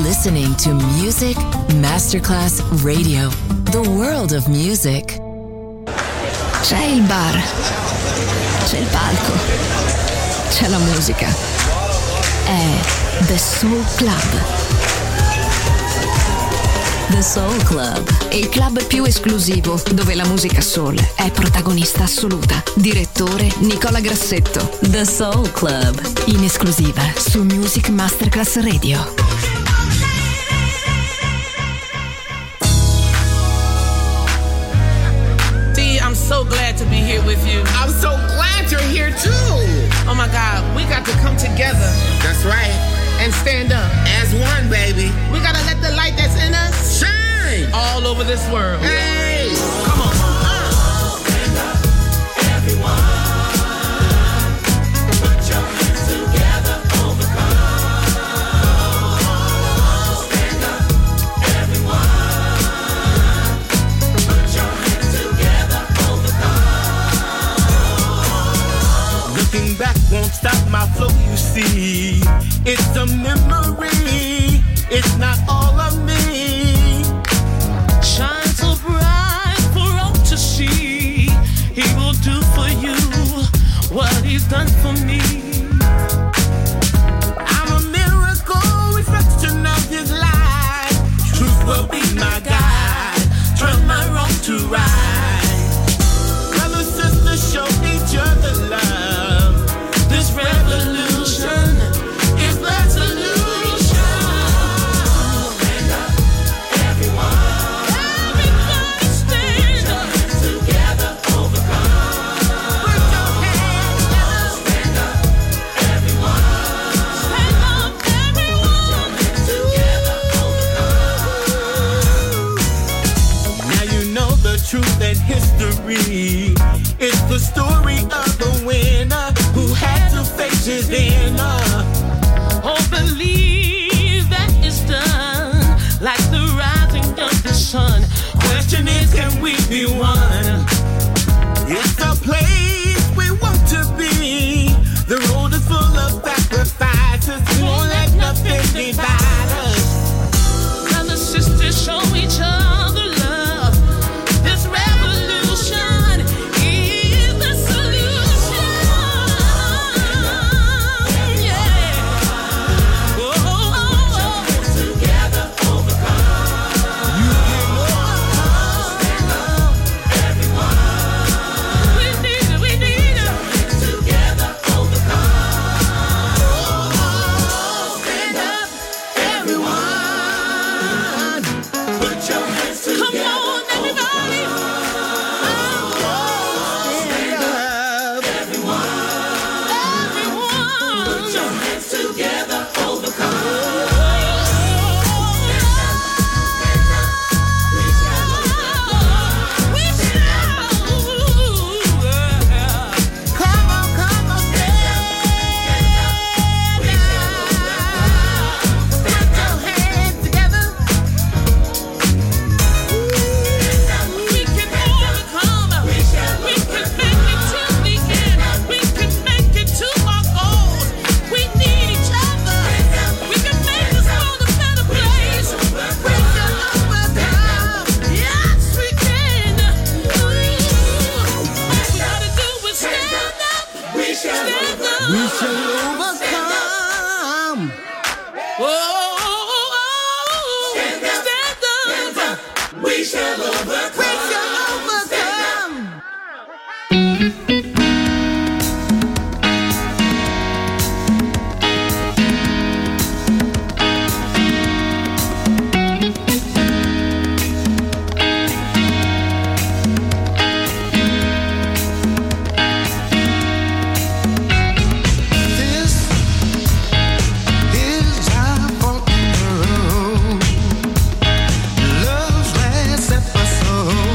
listening to Music Masterclass Radio, the world of music. C'è il bar, c'è il palco, c'è la musica. È The Soul Club. The Soul Club, Il club più esclusivo dove la musica soul è protagonista assoluta. Direttore Nicola Grassetto. The Soul Club, In esclusiva su Music Masterclass Radio. I'm so glad to be here with you. I'm so glad you're here too. Oh my God, we got to come together. That's right. And stand up. As one, baby. We gotta let the light that's in us shine all over this world. Hey, come on. Stand up, everyone. Put your hands together, overcome. Stand up, everyone. Put your hands together, overcome. Looking back won't stop my flow, you see. It's a memory, it's not all of me. Shine so bright for all to see. He will do for you what he's done for me. I'm a miracle, reflection of his life. Truth will be my guide, turn my wrong to right. Brothers, sisters, show each other love. This revolution is the solution. Stand up, everyone. Everybody stand up. Put your hands together, overcome. Put your hands together. Stand up, everyone. Stand up, everyone. Put your hands together, overcome. Now you know the truth and history. It's the story of the winner who had to face his inner. Oh, believe that it's done, like the rising of the sun. Question is, can we be one? It's the place we want to be. The road is full of sacrifices. We won't let nothing divide us. Brothers, sisters, show each other love. This revolution is the solution. Yeah. Oh, oh, oh. Together, overcome. You can overcome. Stand up, everyone. We need it, we need it. Together, overcome. Stand up, everyone. Put your hands together. Come on, everybody. Stand up. Everyone. Put your hands together, overcome. Come on, stand up. Put your hands together. We can overcome. We can make it till the end. We can make it to our goal. We need each other. We can make this world a better place. We can overcome. Yes, we can. All we gotta do is stand up. We shall overcome. We shall overcome. Oh, stand up. We shall overcome. We shall overcome. This is our fault. Love's last episode.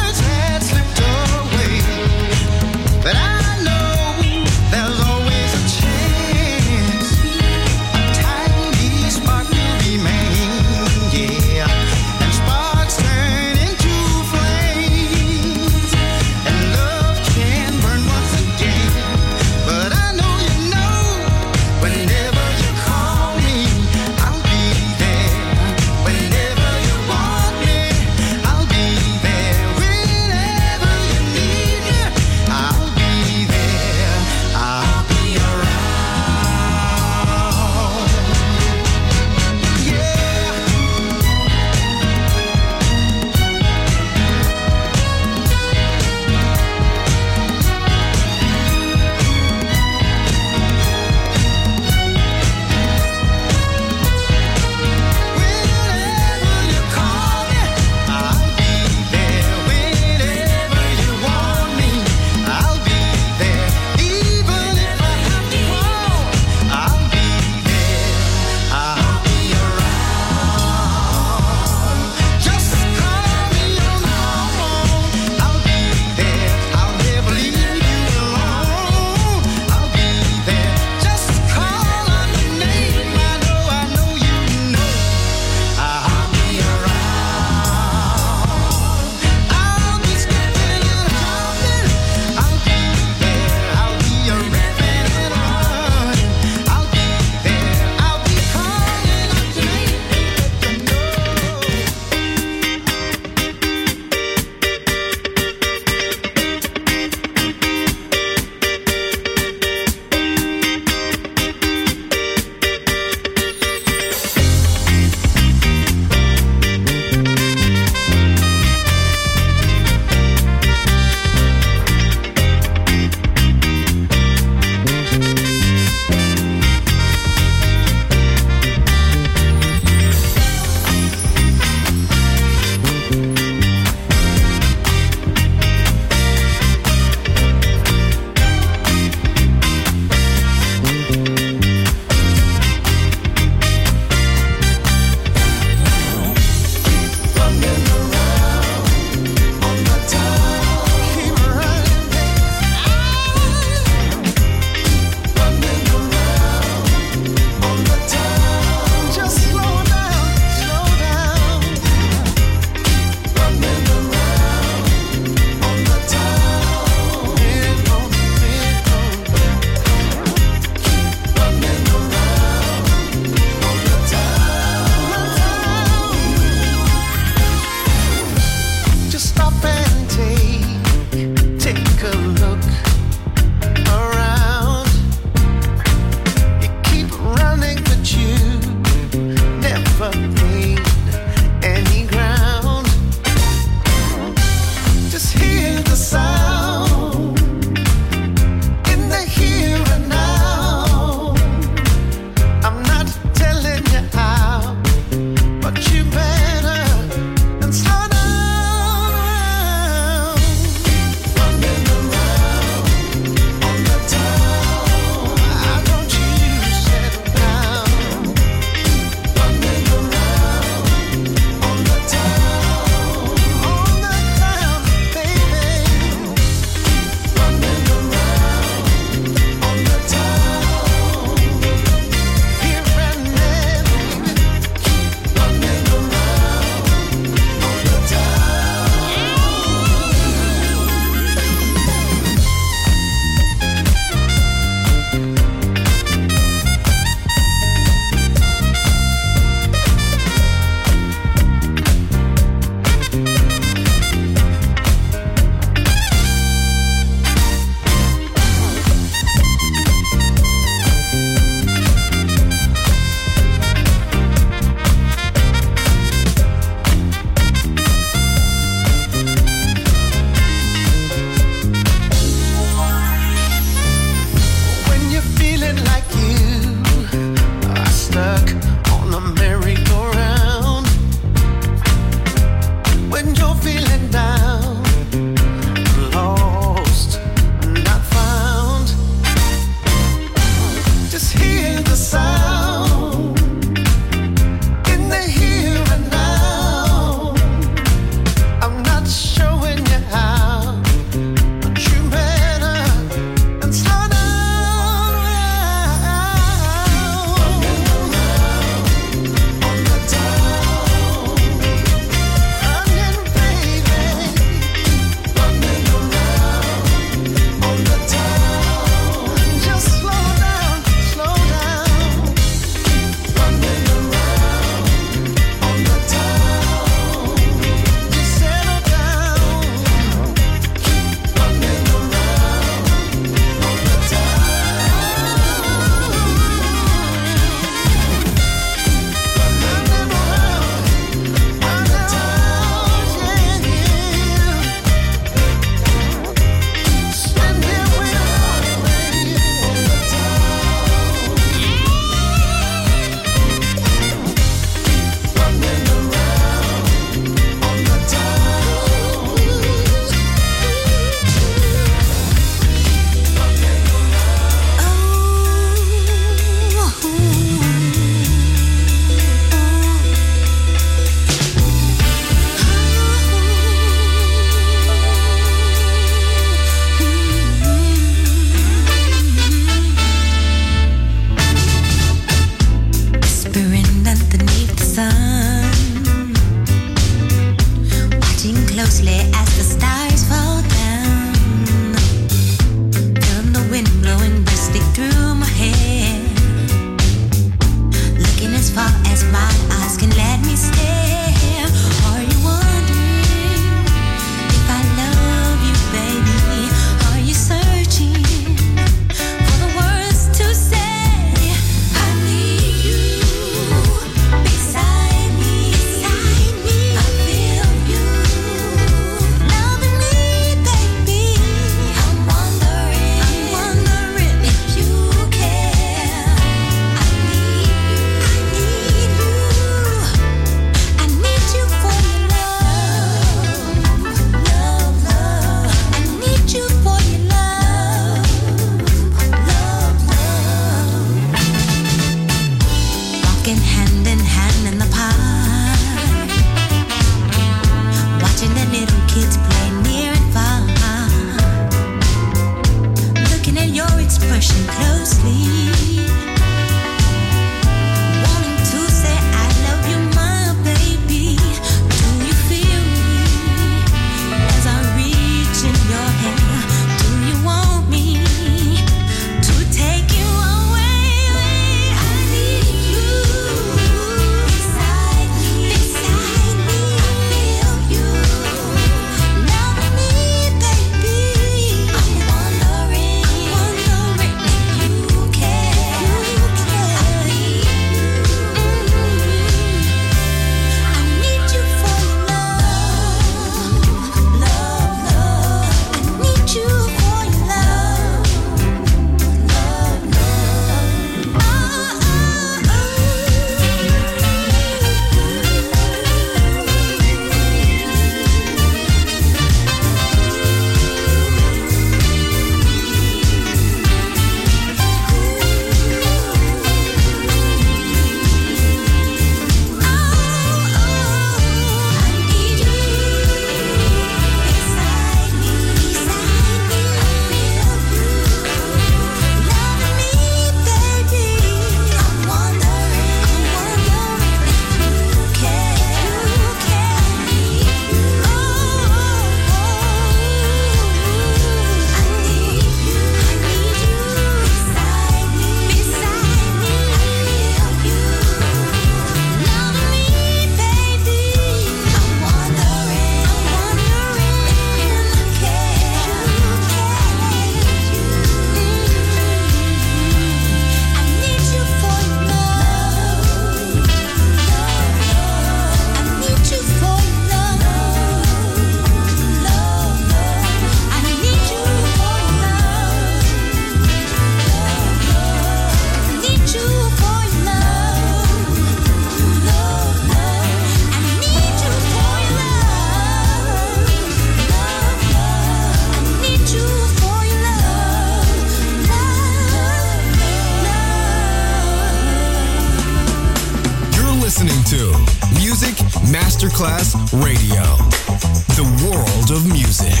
Masterclass Radio. The world of music.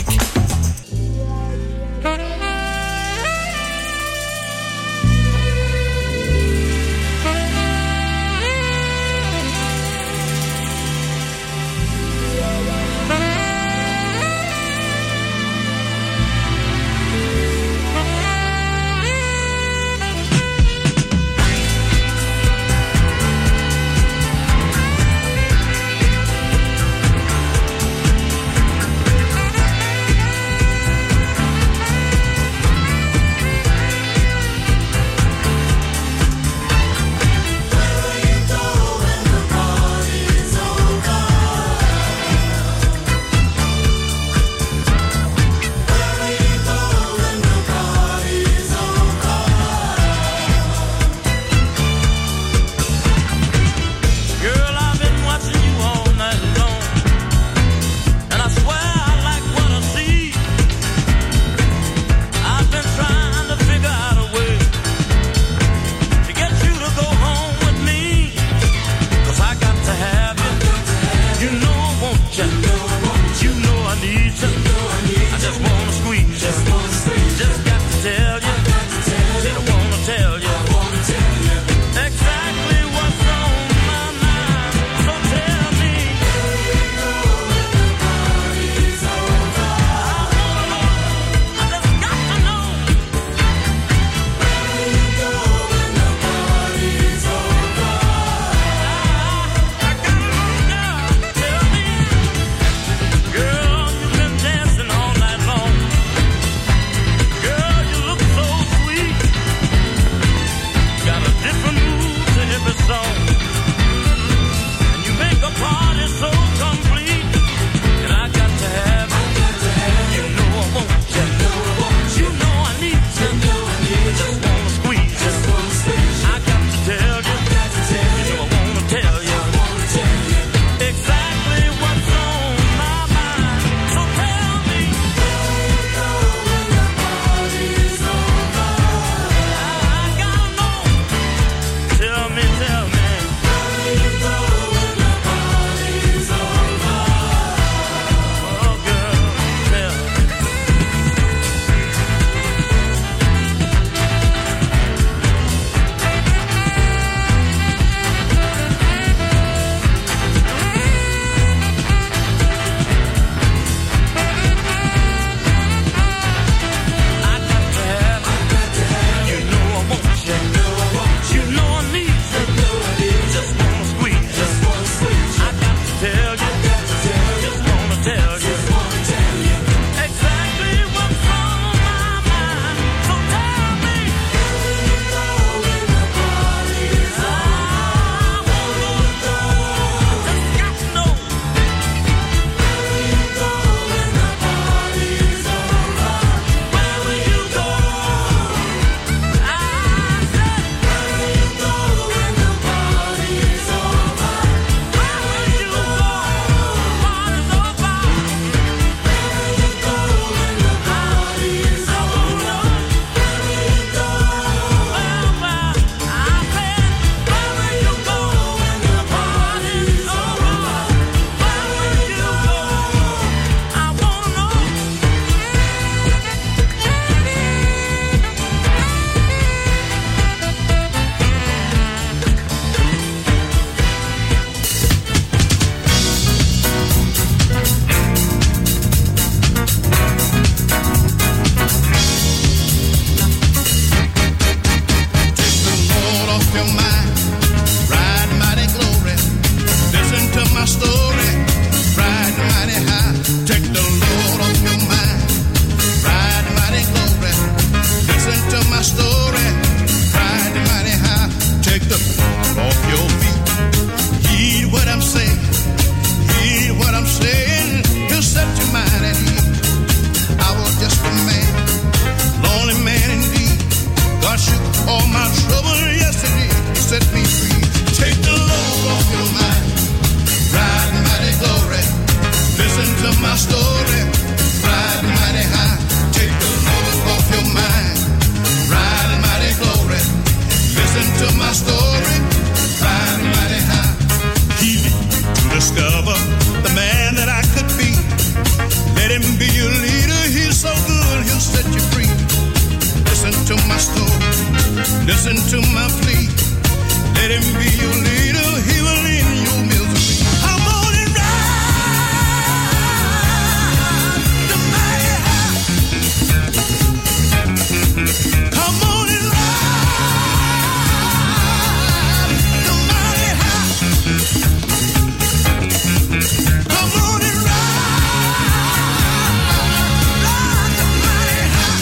your leader. He's so good, he'll set you free. Listen to my story, listen to my plea. Let him be your leader, he will end your misery. Come on and ride the mighty high. Come on and ride the mighty high. Come on and ride the mighty high.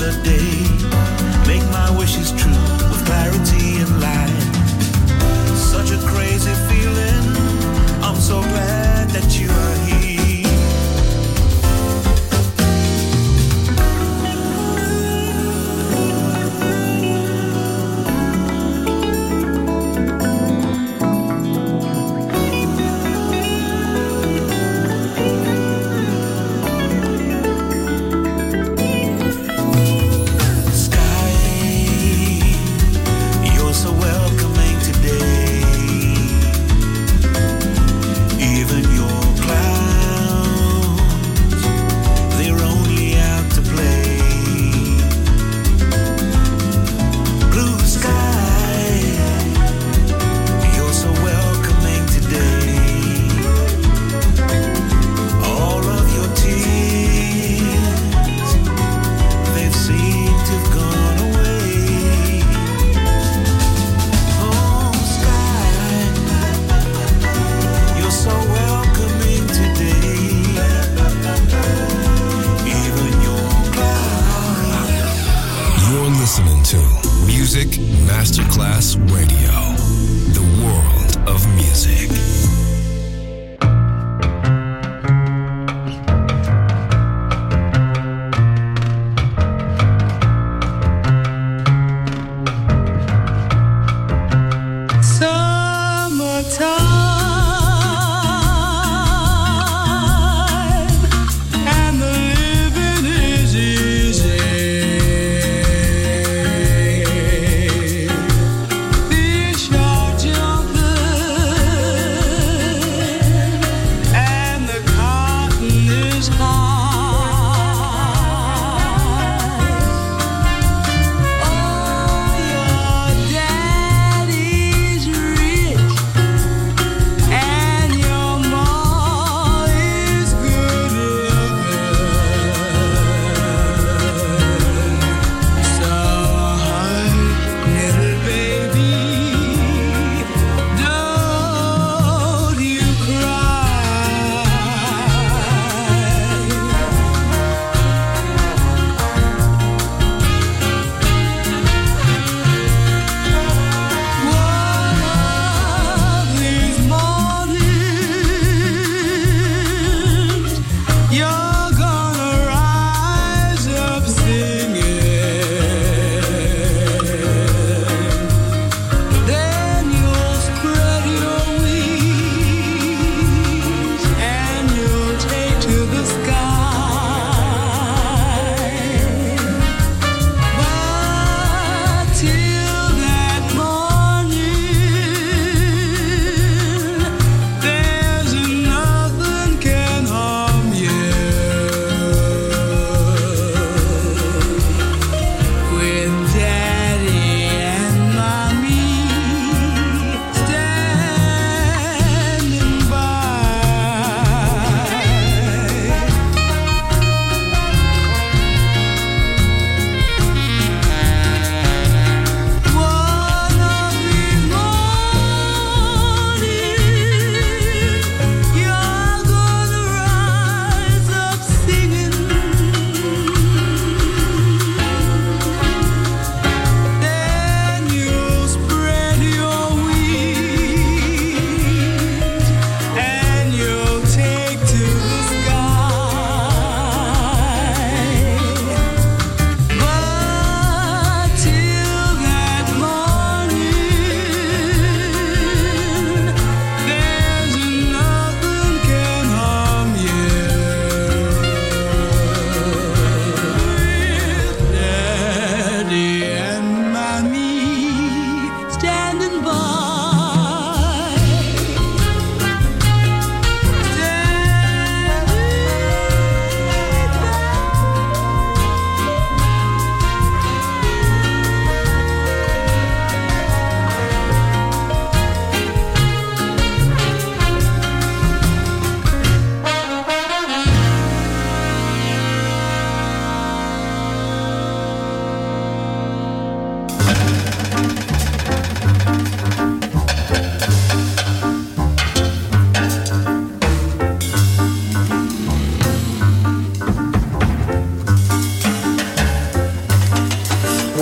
another day. Make my wishes true with clarity and light. Such a crazy feeling. I'm so glad that you are here. Masterclass Radio, the world of music. Fish are jumping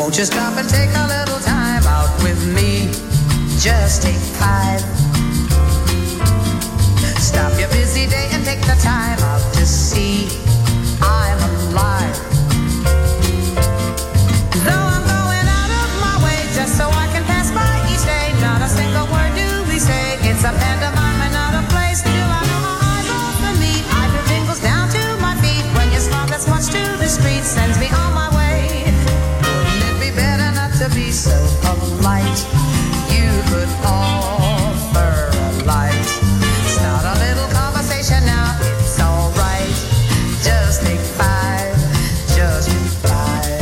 Won't you stop and take a little time out with me? Just take 5. Stop your busy day and take the time out to see I'm alive. Though I'm going out of my way just so I can pass by each day, not a single word do we say. It's a pantomime and not a play. Still I know my eyes off of me. I feel tingles down to my feet when your smile that's marched to the street sends me on my way. Wouldn't it be better not to be so polite? You could offer a light. Start a little conversation now, it's alright. Just take 5, just take 5.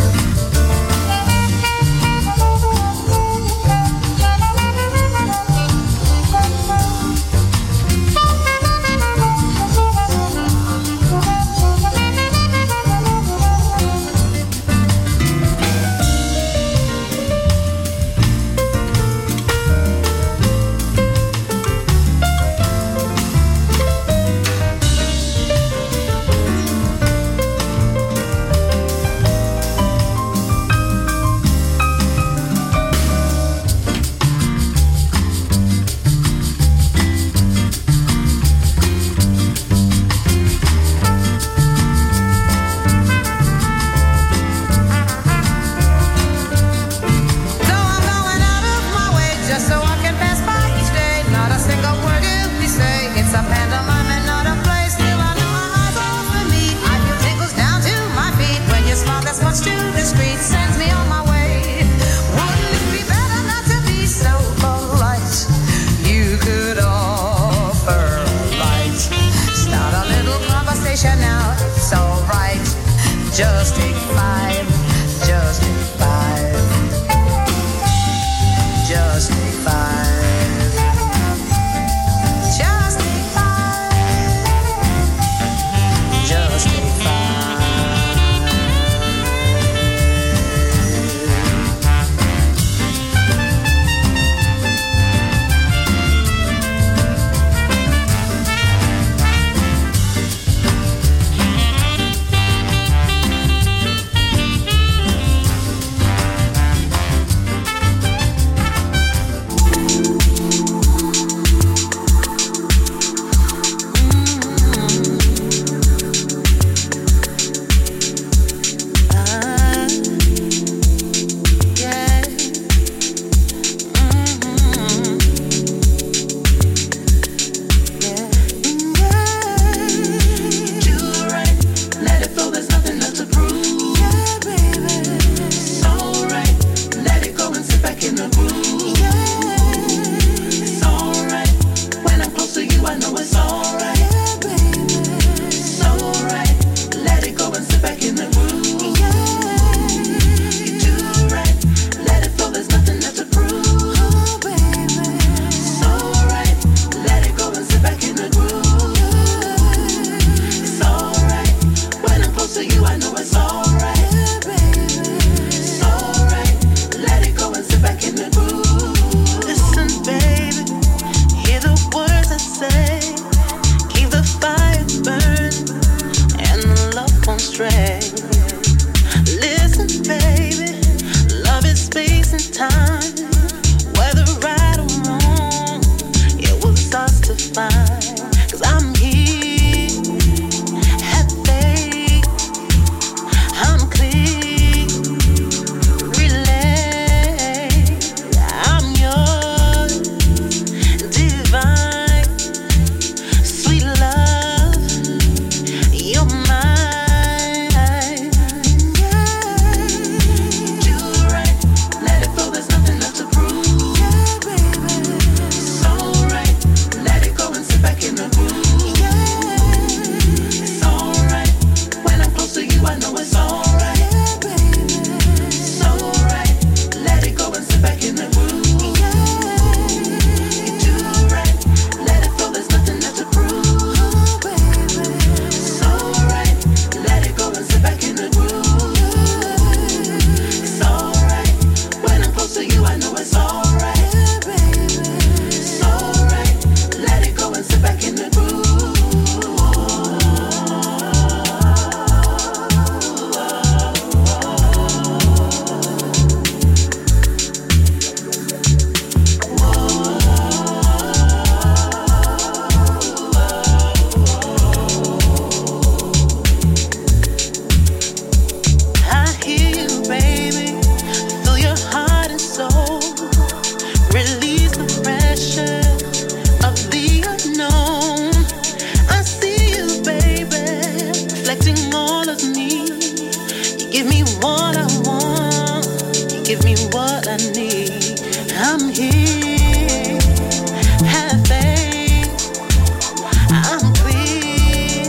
give me what I want, you give me what I need. I'm here, have faith, I'm clear,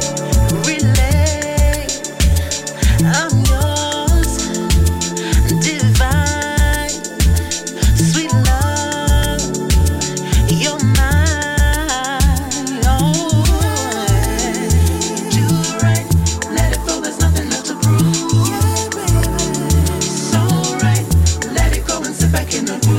relate, I'm yours, divine, sweet love, you're mine, oh, do right, let it flow, there's nothing left to prove, so right, let it go and sit back in the groove.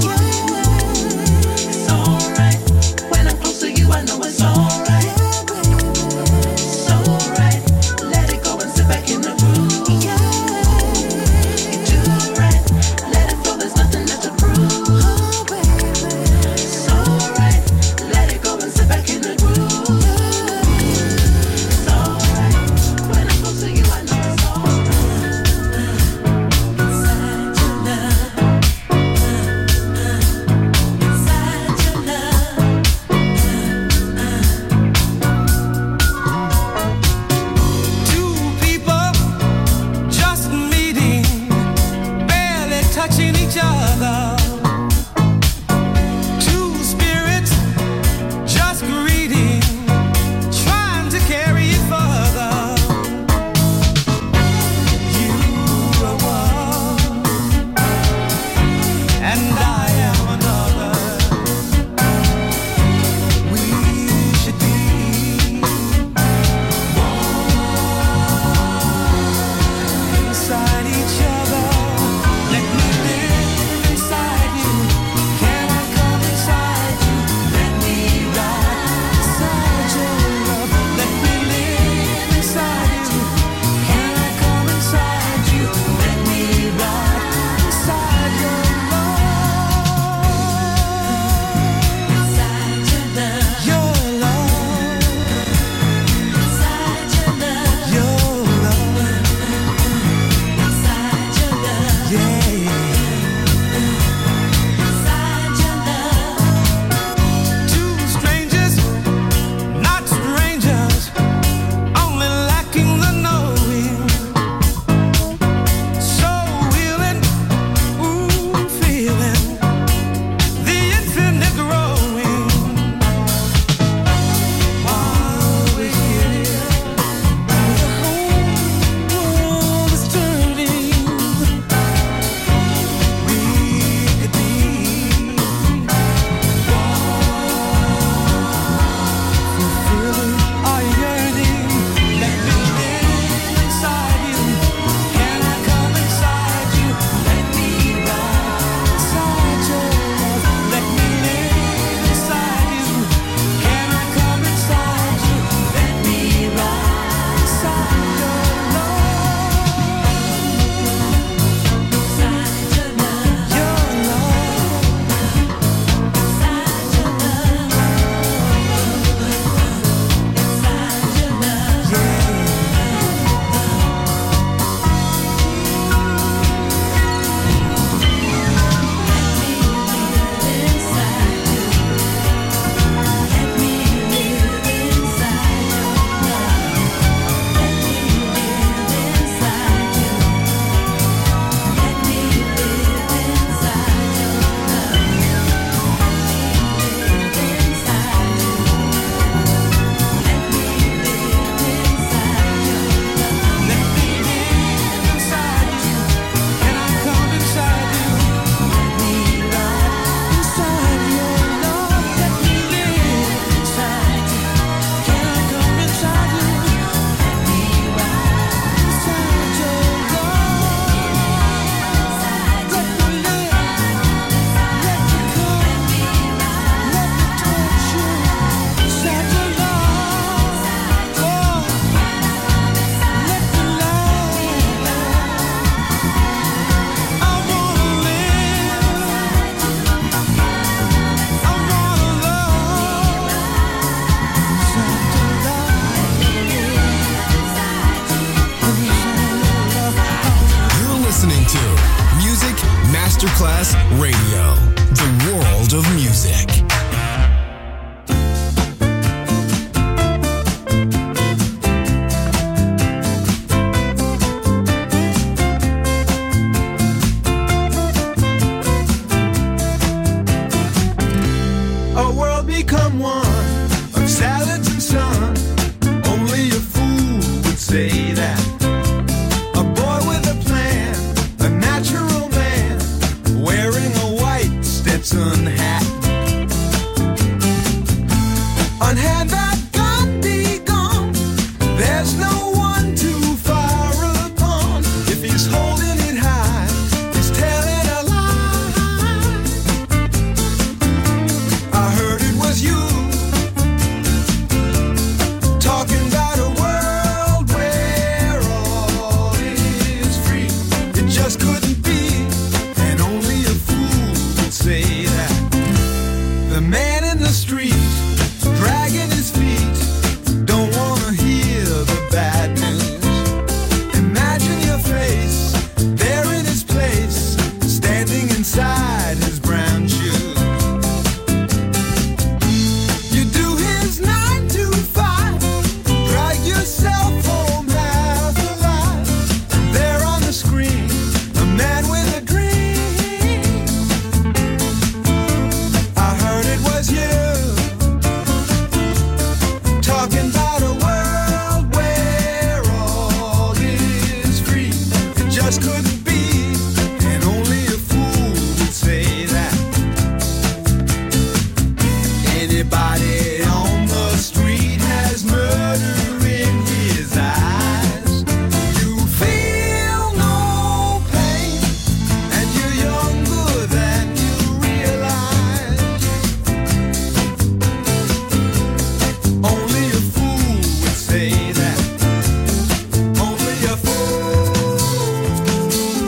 Masterclass Radio, the world of music. just couldn't be, and only a fool would say that. Anybody on the street has murder in his eyes. You feel no pain, and you're younger than you realize. Only a fool would say that. Only a fool.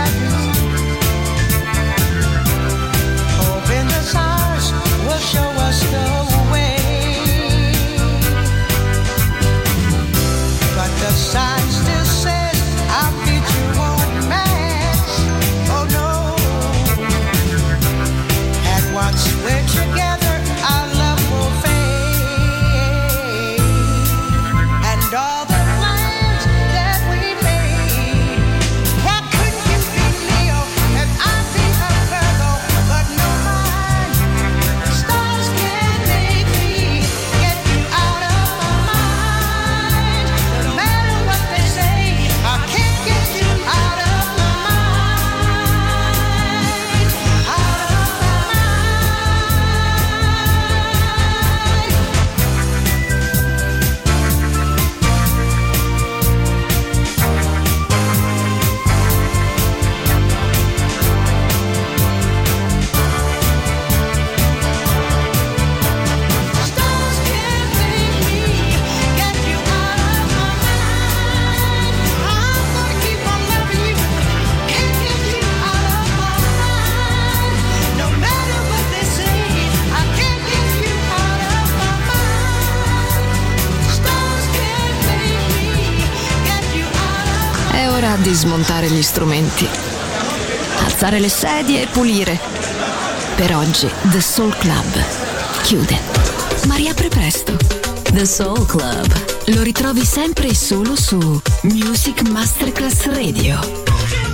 I do. Hoping the stars will show us the way. But the sign still says our future won't match. Oh no. And once we're together, our love will fade. And all the plans that we made. Why couldn't you be Leo and I'd be a Virgo? But no mind. The stars can't make me get you out of my mind. No matter what they say, I can't get you out of my mind. Out of my stars can't make me get you out of my mind. I'm gonna keep on loving you. Can't get you out of my mind. No matter what they say, I can't get you out of my mind. Stars can't make me get you out of. È ora di smontare gli strumenti, alzare le sedie e pulire. Per oggi The Soul Club chiude, ma riapre presto. The Soul Club lo ritrovi sempre e solo su Music Masterclass Radio.